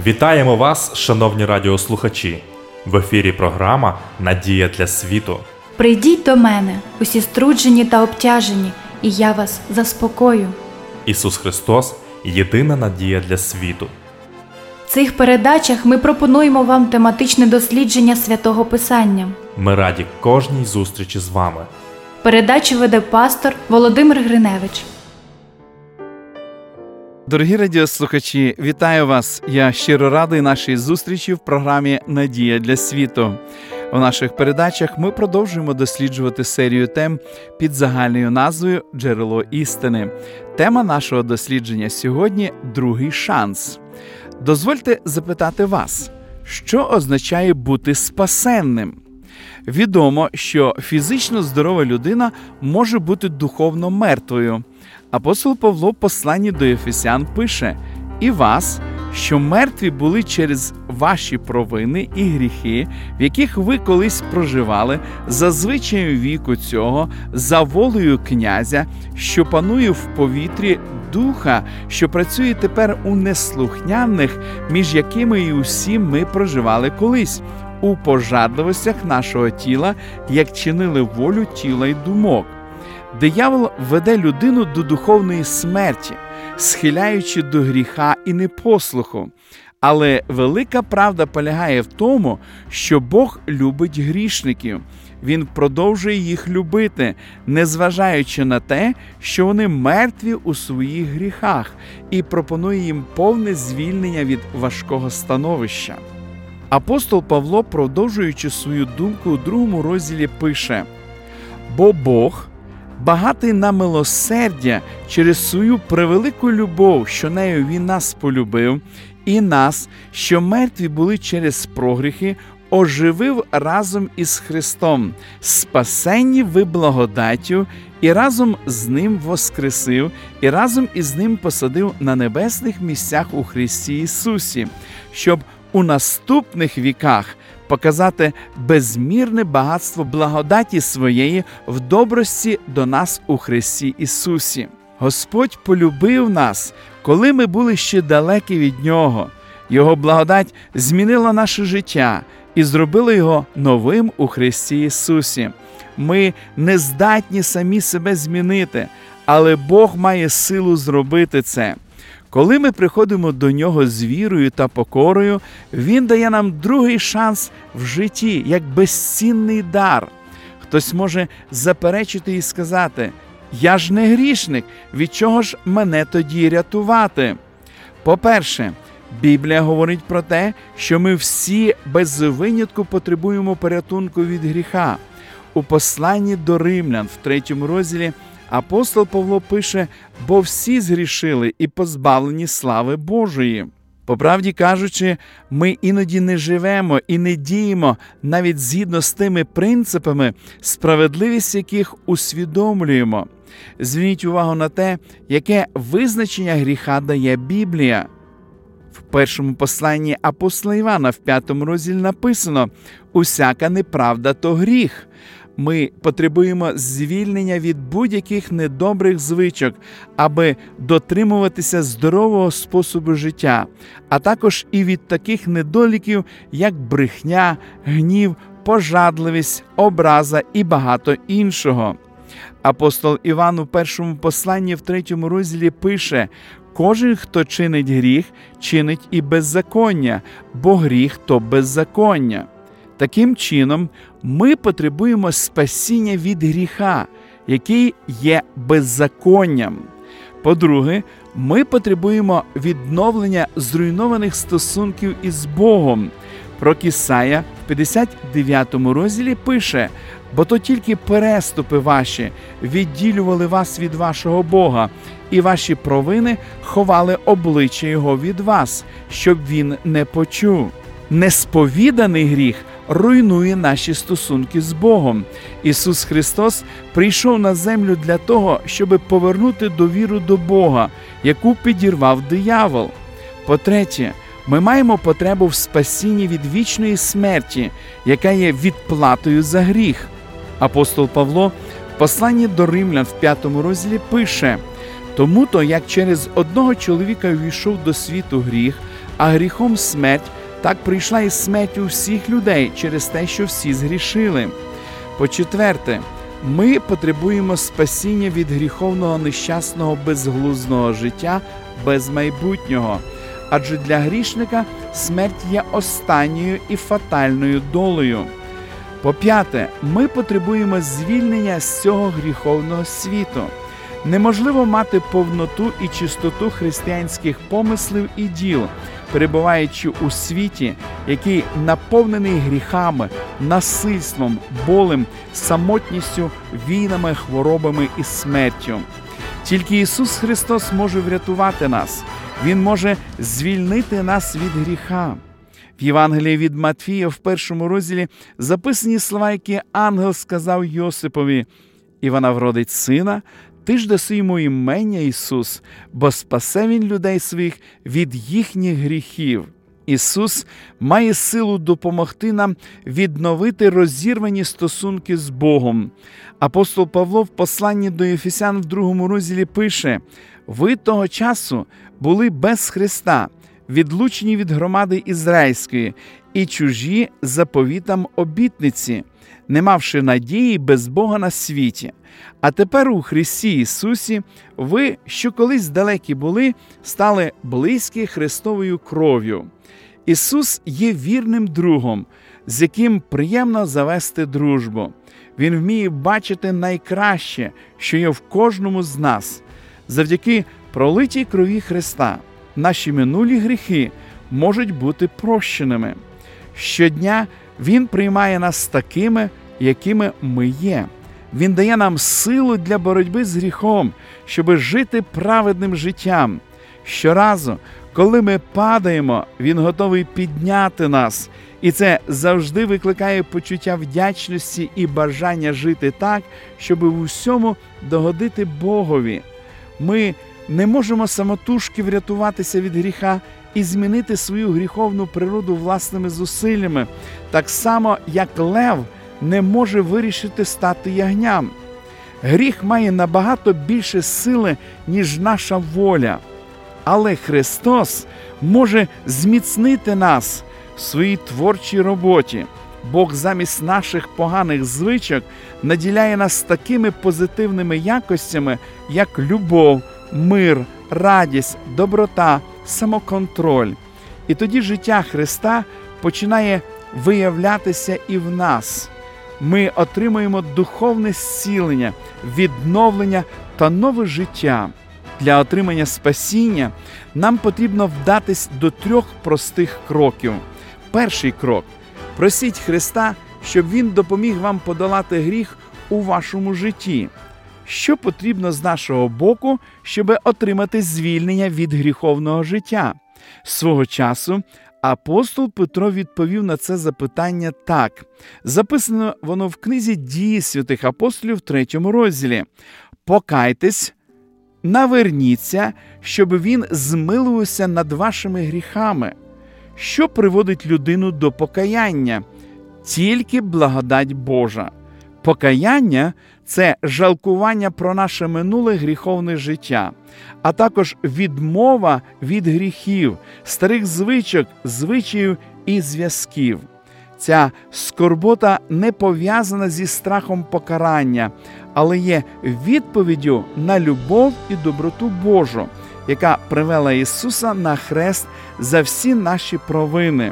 Вітаємо вас, шановні радіослухачі! В ефірі програма «Надія для світу». Прийдіть до мене, усі струджені та обтяжені, і я вас заспокою. Ісус Христос – єдина надія для світу. В цих передачах ми пропонуємо вам тематичне дослідження Святого Писання. Ми раді кожній зустрічі з вами. Передачу веде пастор Володимир Гриневич. Дорогі радіослухачі, вітаю вас! Я щиро радий нашій зустрічі в програмі «Надія для світу». У наших передачах ми продовжуємо досліджувати серію тем під загальною назвою «Джерело істини». Тема нашого дослідження сьогодні – «Другий шанс». Дозвольте запитати вас, що означає бути спасенним? Відомо, що фізично здорова людина може бути духовно мертвою. Апостол Павло в посланні до Ефесян пише: «І вас, що мертві були через ваші провини і гріхи, в яких ви колись проживали, за звичаєм віку цього, за волею князя, що панує в повітрі, духа, що працює тепер у неслухняних, між якими і усі ми проживали колись, у пожадливостях нашого тіла, як чинили волю тіла й думок». Диявол веде людину до духовної смерті, схиляючи до гріха і непослуху. Але велика правда полягає в тому, що Бог любить грішників. Він продовжує їх любити, незважаючи на те, що вони мертві у своїх гріхах, і пропонує їм повне звільнення від важкого становища. Апостол Павло, продовжуючи свою думку у 2 розділі, пише: «Бо Бог, багатий на милосердя, через свою превелику любов, що нею Він нас полюбив, і нас, що мертві були через прогріхи, оживив разом із Христом, спасенні ви благодаттю, і разом з Ним воскресив, і разом із Ним посадив на небесних місцях у Христі Ісусі, щоб у наступних віках показати безмірне багатство благодаті своєї в добрості до нас у Христі Ісусі. Господь полюбив нас, коли ми були ще далекі від Нього. Його благодать змінила наше життя і зробила його новим у Христі Ісусі. Ми не здатні самі себе змінити, але Бог має силу зробити це. Коли ми приходимо до Нього з вірою та покорою, Він дає нам другий шанс в житті, як безцінний дар. Хтось може заперечити і сказати: «Я ж не грішник, від чого ж мене тоді рятувати?» По-перше, Біблія говорить про те, що ми всі без винятку потребуємо порятунку від гріха. У посланні до Римлян в 3 розділі апостол Павло пише: «Бо всі згрішили і позбавлені слави Божої». По правді кажучи, ми іноді не живемо і не діємо навіть згідно з тими принципами, справедливість яких усвідомлюємо. Зверніть увагу на те, яке визначення гріха дає Біблія. В першому посланні апостола Івана в 5 розділі написано: «Усяка неправда – то гріх». Ми потребуємо звільнення від будь-яких недобрих звичок, аби дотримуватися здорового способу життя, а також і від таких недоліків, як брехня, гнів, пожадливість, образа і багато іншого. Апостол Іван у першому посланні в 3 розділі пише: «Кожен, хто чинить гріх, чинить і беззаконня, бо гріх – то беззаконня». Таким чином, ми потребуємо спасіння від гріха, який є беззаконням. По-друге, ми потребуємо відновлення зруйнованих стосунків із Богом. Пророк Ісая в 59 розділі пише: «Бо то тільки переступи ваші відділювали вас від вашого Бога, і ваші провини ховали обличчя Його від вас, щоб Він не почув». Несповіданий гріх руйнує наші стосунки з Богом. Ісус Христос прийшов на землю для того, щоб повернути довіру до Бога, яку підірвав диявол. По-третє, ми маємо потребу в спасінні від вічної смерті, яка є відплатою за гріх. Апостол Павло в посланні до Римлян в 5 розділі пише: «Тому-то, як через одного чоловіка увійшов до світу гріх, А гріхом смерть, так прийшла і смерть у всіх людей через те, що всі згрішили. По-четверте, ми потребуємо спасіння від гріховного нещасного безглуздого життя без майбутнього. Адже для грішника смерть є останньою і фатальною долею. По-п'яте, ми потребуємо звільнення з цього гріховного світу. Неможливо мати повноту і чистоту християнських помислів і діл, перебуваючи у світі, який наповнений гріхами, насильством, болем, самотністю, війнами, хворобами і смертю. Тільки Ісус Христос може врятувати нас. Він може звільнити нас від гріха. В Євангелії від Матфія в 1 розділі записані слова, які ангел сказав Йосипові: «І вона вродить сина, ти ж даси йому імення Ісус, бо спасе він людей своїх від їхніх гріхів». Ісус має силу допомогти нам відновити розірвані стосунки з Богом. Апостол Павло в посланні до Ефесян в 2 розділі пише: «Ви того часу були без Христа, відлучені від громади ізраїльської і чужі заповітам обітниці, не мавши надії без Бога на світі. А тепер у Христі Ісусі ви, що колись далекі були, стали близькі Христовою кров'ю». Ісус є вірним другом, з яким приємно завести дружбу. Він вміє бачити найкраще, що є в кожному з нас. Завдяки пролитій крові Христа наші минулі гріхи можуть бути прощеними. Щодня Він приймає нас такими, якими ми є. Він дає нам силу для боротьби з гріхом, щоби жити праведним життям. Щоразу, коли ми падаємо, Він готовий підняти нас. І це завжди викликає почуття вдячності і бажання жити так, щоб в усьому догодити Богові. Ми не можемо самотужки врятуватися від гріха і змінити свою гріховну природу власними зусиллями, так само, як лев не може вирішити стати ягням. Гріх має набагато більше сили, ніж наша воля. Але Христос може зміцнити нас в своїй творчій роботі. Бог замість наших поганих звичок наділяє нас такими позитивними якостями, як любов, мир, радість, доброта, самоконтроль. І тоді життя Христа починає виявлятися і в нас. Ми отримуємо духовне зцілення, відновлення та нове життя. Для отримання спасіння нам потрібно вдатись до 3 простих кроків. Перший крок – просіть Христа, щоб Він допоміг вам подолати гріх у вашому житті. Що потрібно з нашого боку, щоб отримати звільнення від гріховного життя? Свого часу апостол Петро відповів на це запитання так. Записано воно в книзі «Дії святих апостолів» в 3 розділі. «Покайтесь, наверніться, щоб він змилувався над вашими гріхами». Що приводить людину до покаяння? Тільки благодать Божа. Покаяння – це жалкування про наше минуле гріховне життя, а також відмова від гріхів, старих звичок, звичаїв і зв'язків. Ця скорбота не пов'язана зі страхом покарання, але є відповіддю на любов і доброту Божу, яка привела Ісуса на хрест за всі наші провини.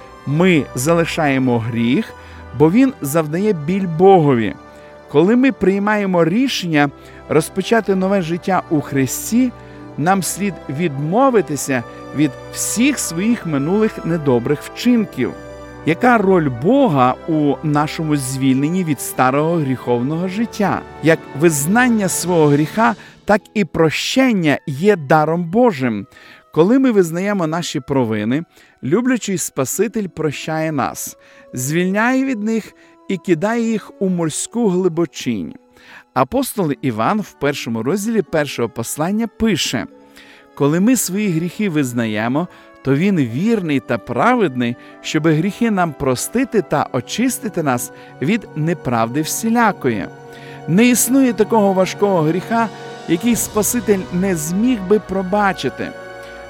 Ми залишаємо гріх, бо він завдає біль Богові. Коли ми приймаємо рішення розпочати нове життя у Христі, нам слід відмовитися від всіх своїх минулих недобрих вчинків. Яка роль Бога у нашому звільненні від старого гріховного життя? Як визнання свого гріха, так і прощення є даром Божим. Коли ми визнаємо наші провини, люблячий Спаситель прощає нас, звільняє від них і кидає їх у морську глибочинь. Апостол Іван в 1 розділі 1 послання пише: «Коли ми свої гріхи визнаємо, то Він вірний та праведний, щоби гріхи нам простити та очистити нас від неправди всілякої». Не існує такого важкого гріха, який Спаситель не зміг би пробачити.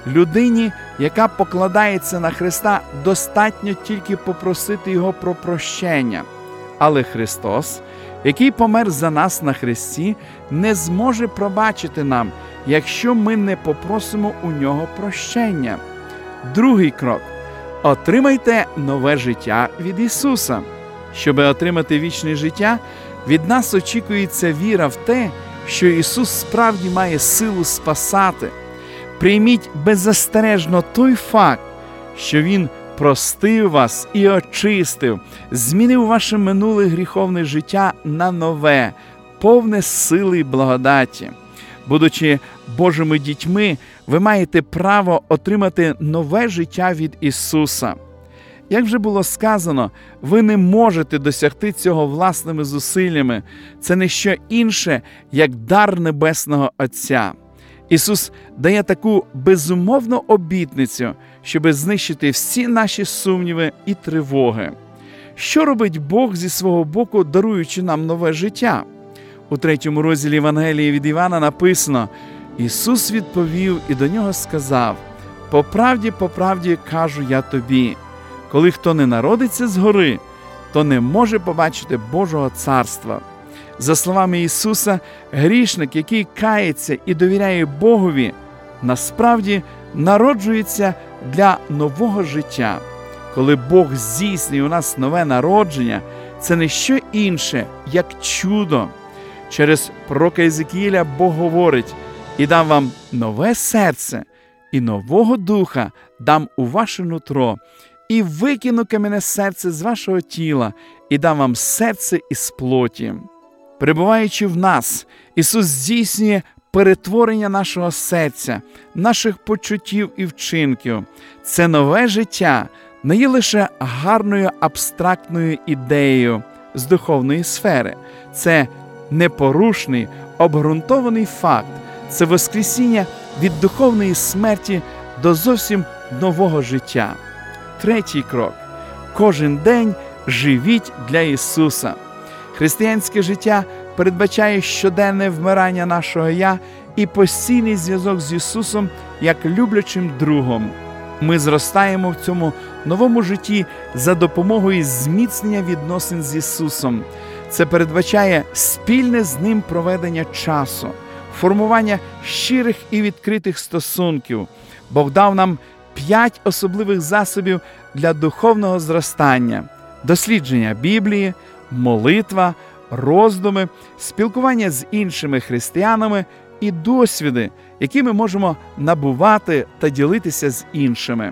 Людині, яка покладається на Христа, достатньо тільки попросити Його про прощення. Але Христос, який помер за нас на хресті, не зможе пробачити нам, якщо ми не попросимо у Нього прощення. Другий крок. Отримайте нове життя від Ісуса. Щоби отримати вічне життя, від нас очікується віра в те, що Ісус справді має силу спасати. Прийміть беззастережно той факт, що Він простив вас і очистив, змінив ваше минуле гріховне життя на нове, повне сили й благодаті. Будучи Божими дітьми, ви маєте право отримати нове життя від Ісуса. Як вже було сказано, ви не можете досягти цього власними зусиллями. Це не що інше, як дар Небесного Отця. Ісус дає таку безумовну обітницю, щоби знищити всі наші сумніви і тривоги. Що робить Бог зі свого боку, даруючи нам нове життя? У 3 розділі Євангелії від Івана написано: «Ісус відповів і до нього сказав: по правді кажу я тобі, коли хто не народиться згори, то не може побачити Божого царства». За словами Ісуса, грішник, який кається і довіряє Богові, насправді народжується для нового життя. Коли Бог здійснює у нас нове народження, це не що інше, як чудо. Через пророка Єзекіїля Бог говорить: «І дам вам нове серце, і нового духа дам у ваше нутро, і викину кам'яне серце з вашого тіла, і дам вам серце із плоті». Перебуваючи в нас, Ісус здійснює перетворення нашого серця, наших почуттів і вчинків. Це нове життя не є лише гарною абстрактною ідеєю з духовної сфери. Це непорушний, обґрунтований факт. Це воскресіння від духовної смерті до зовсім нового життя. Третій крок. Кожен день живіть для Ісуса. Християнське життя передбачає щоденне вмирання нашого «я» і постійний зв'язок з Ісусом як люблячим другом. Ми зростаємо в цьому новому житті за допомогою зміцнення відносин з Ісусом. Це передбачає спільне з Ним проведення часу, формування щирих і відкритих стосунків. Бог дав нам 5 особливих засобів для духовного зростання: дослідження Біблії, молитва, роздуми, спілкування з іншими християнами і досвіди, які ми можемо набувати та ділитися з іншими.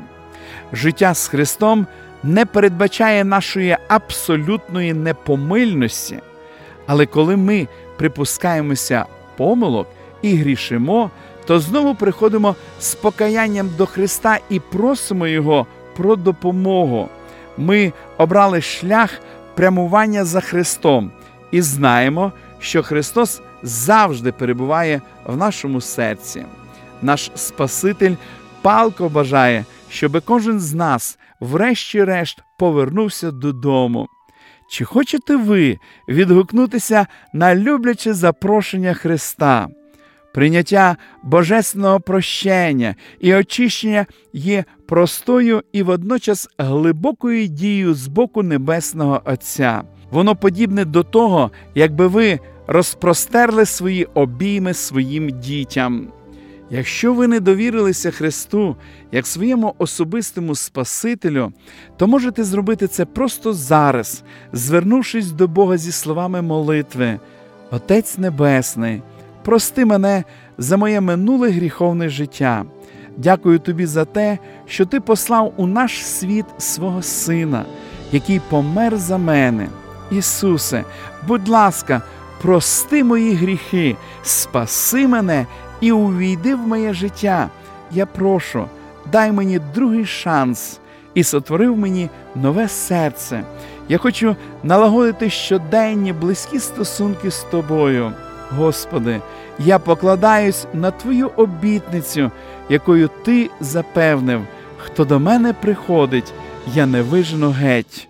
Життя з Христом не передбачає нашої абсолютної непомильності, але коли ми припускаємося помилок і грішимо, то знову приходимо з покаянням до Христа і просимо Його про допомогу. Ми обрали шлях прямування за Христом і знаємо, що Христос завжди перебуває в нашому серці. Наш Спаситель палко бажає, щоб кожен з нас врешті-решт повернувся додому. Чи хочете ви відгукнутися на любляче запрошення Христа? Прийняття божественного прощення і очищення є простою і водночас глибокою дією з боку Небесного Отця. Воно подібне до того, якби ви розпростерли свої обійми своїм дітям. Якщо ви не довірилися Христу як своєму особистому Спасителю, то можете зробити це просто зараз, звернувшись до Бога зі словами молитви: «Отець Небесний, прости мене за моє минуле гріховне життя. Дякую Тобі за те, що Ти послав у наш світ свого Сина, який помер за мене. Ісусе, будь ласка, прости мої гріхи, спаси мене і увійди в моє життя. Я прошу, дай мені другий шанс і сотвори в мені нове серце. Я хочу налагодити щоденні близькі стосунки з Тобою. Господи, я покладаюсь на Твою обітницю, якою Ти запевнив: хто до мене приходить, я не вижену геть».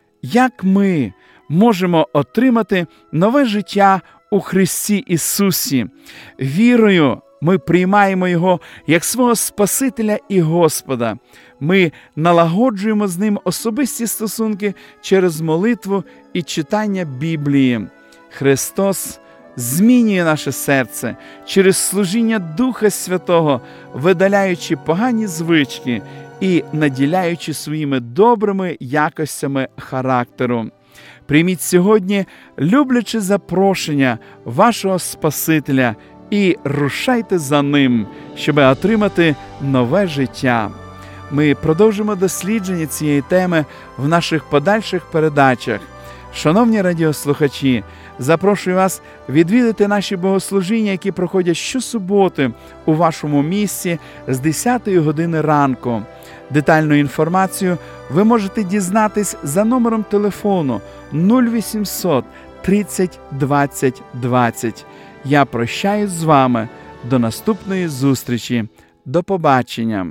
Як ми можемо отримати нове життя у Христі Ісусі? Вірою Ми приймаємо Його як свого Спасителя і Господа. Ми налагоджуємо з Ним особисті стосунки через молитву і читання Біблії. Христос змінює наше серце через служіння Духа Святого, видаляючи погані звички і наділяючи своїми добрими якостями характеру. Прийміть сьогодні любляче запрошення вашого Спасителя і рушайте за Ним, щоб отримати нове життя. Ми продовжимо дослідження цієї теми в наших подальших передачах. Шановні радіослухачі, запрошую вас відвідати наші богослужіння, які проходять щосуботи у вашому місті з 10 години ранку. Детальну інформацію ви можете дізнатись за номером телефону 0800 30 20 20. Я прощаюсь з вами. До наступної зустрічі. До побачення.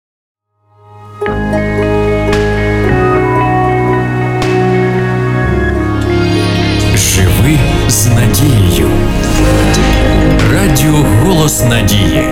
Живи з надією. Радіо «Голос надії».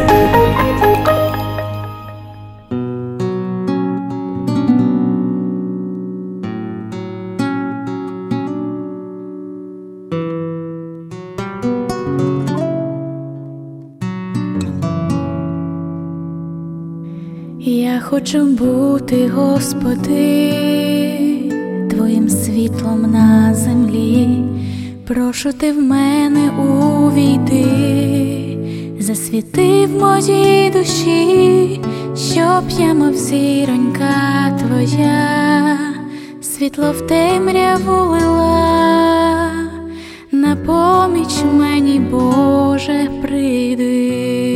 Я хочу бути, Господи, Твоїм світлом на землі. Прошу Ти в мене увійди, засвіти в моїй душі, щоб я, мов зіронька Твоя, світло в темряву лила. На поміч мені, Боже, прийди.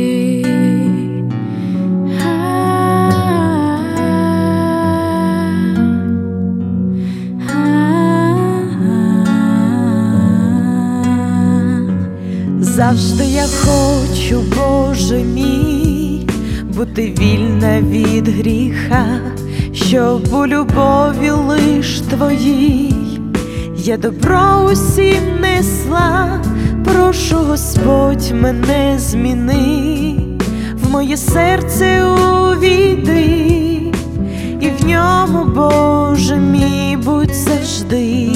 Завжди я хочу, Боже мій, бути вільна від гріха, щоб у любові лиш Твоїй я добро усім несла. Прошу, Господь, мене зміни, в моє серце увійди, і в ньому, Боже мій, будь завжди.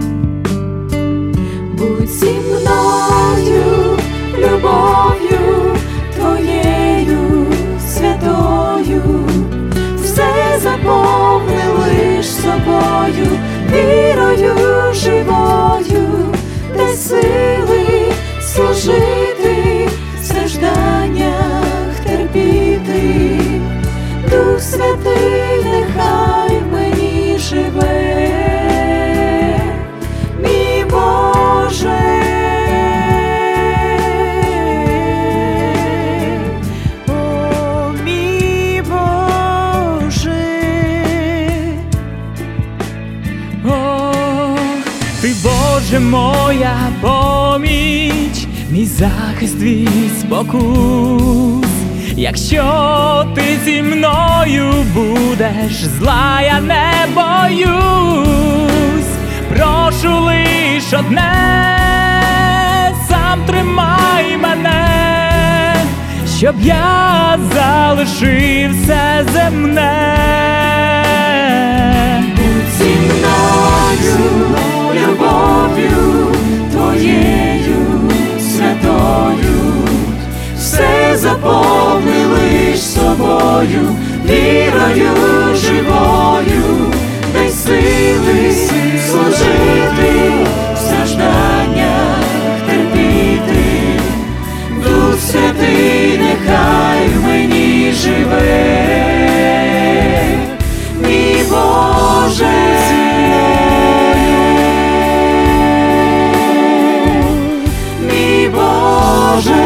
Будь зі мною, любов'ю Твоєю святою, все заповни лиш собою, вірою живою, дай сили служити, в стражданнях терпіти. Дух Святий нехай в мені живе, мій Боже. Боже, моя поміч, мій захист від спокус. Якщо ти зі мною будеш, зла я не боюсь. Прошу лиш одне, сам тримай мене, щоб я залишив все земне. Будь зі мною, любов'ю Твоєю святою, все заповни лиш собою, вірою живою, дай сили служити, в стражданнях терпіти. Дух Святий нехай в мені живе, мій Боже.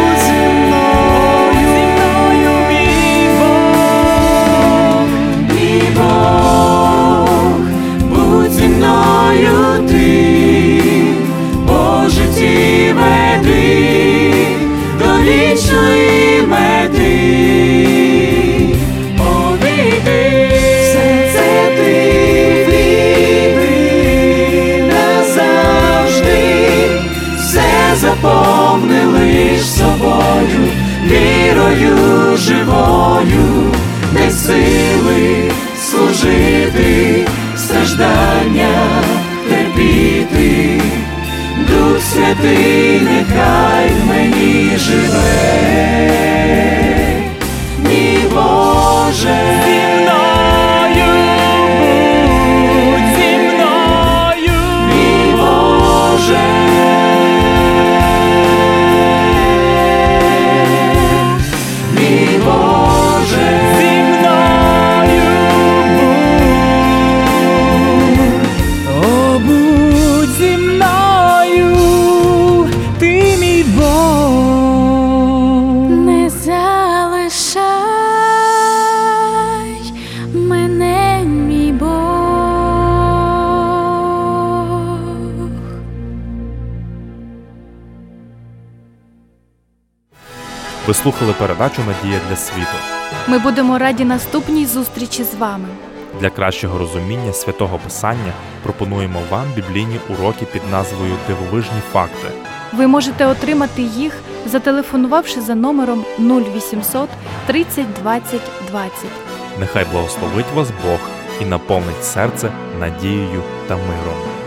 Мій сили служити, страждання терпіти. Дух Святий нехай в мені живе. Мій Боже, Зі мною будь, зі мною. мій Боже, мій Боже, Зі мною будь, о, будь зі мною, ти мій Бог. Не залишай мене, мій Бог. Ви слухали передачу «Надія для світу». Ми будемо раді наступній зустрічі з вами. Для кращого розуміння Святого Писання пропонуємо вам біблійні уроки під назвою «Дивовижні факти». Ви можете отримати їх, зателефонувавши за номером 0800 30 20 20. Нехай благословить вас Бог і наповнить серце надією та миром.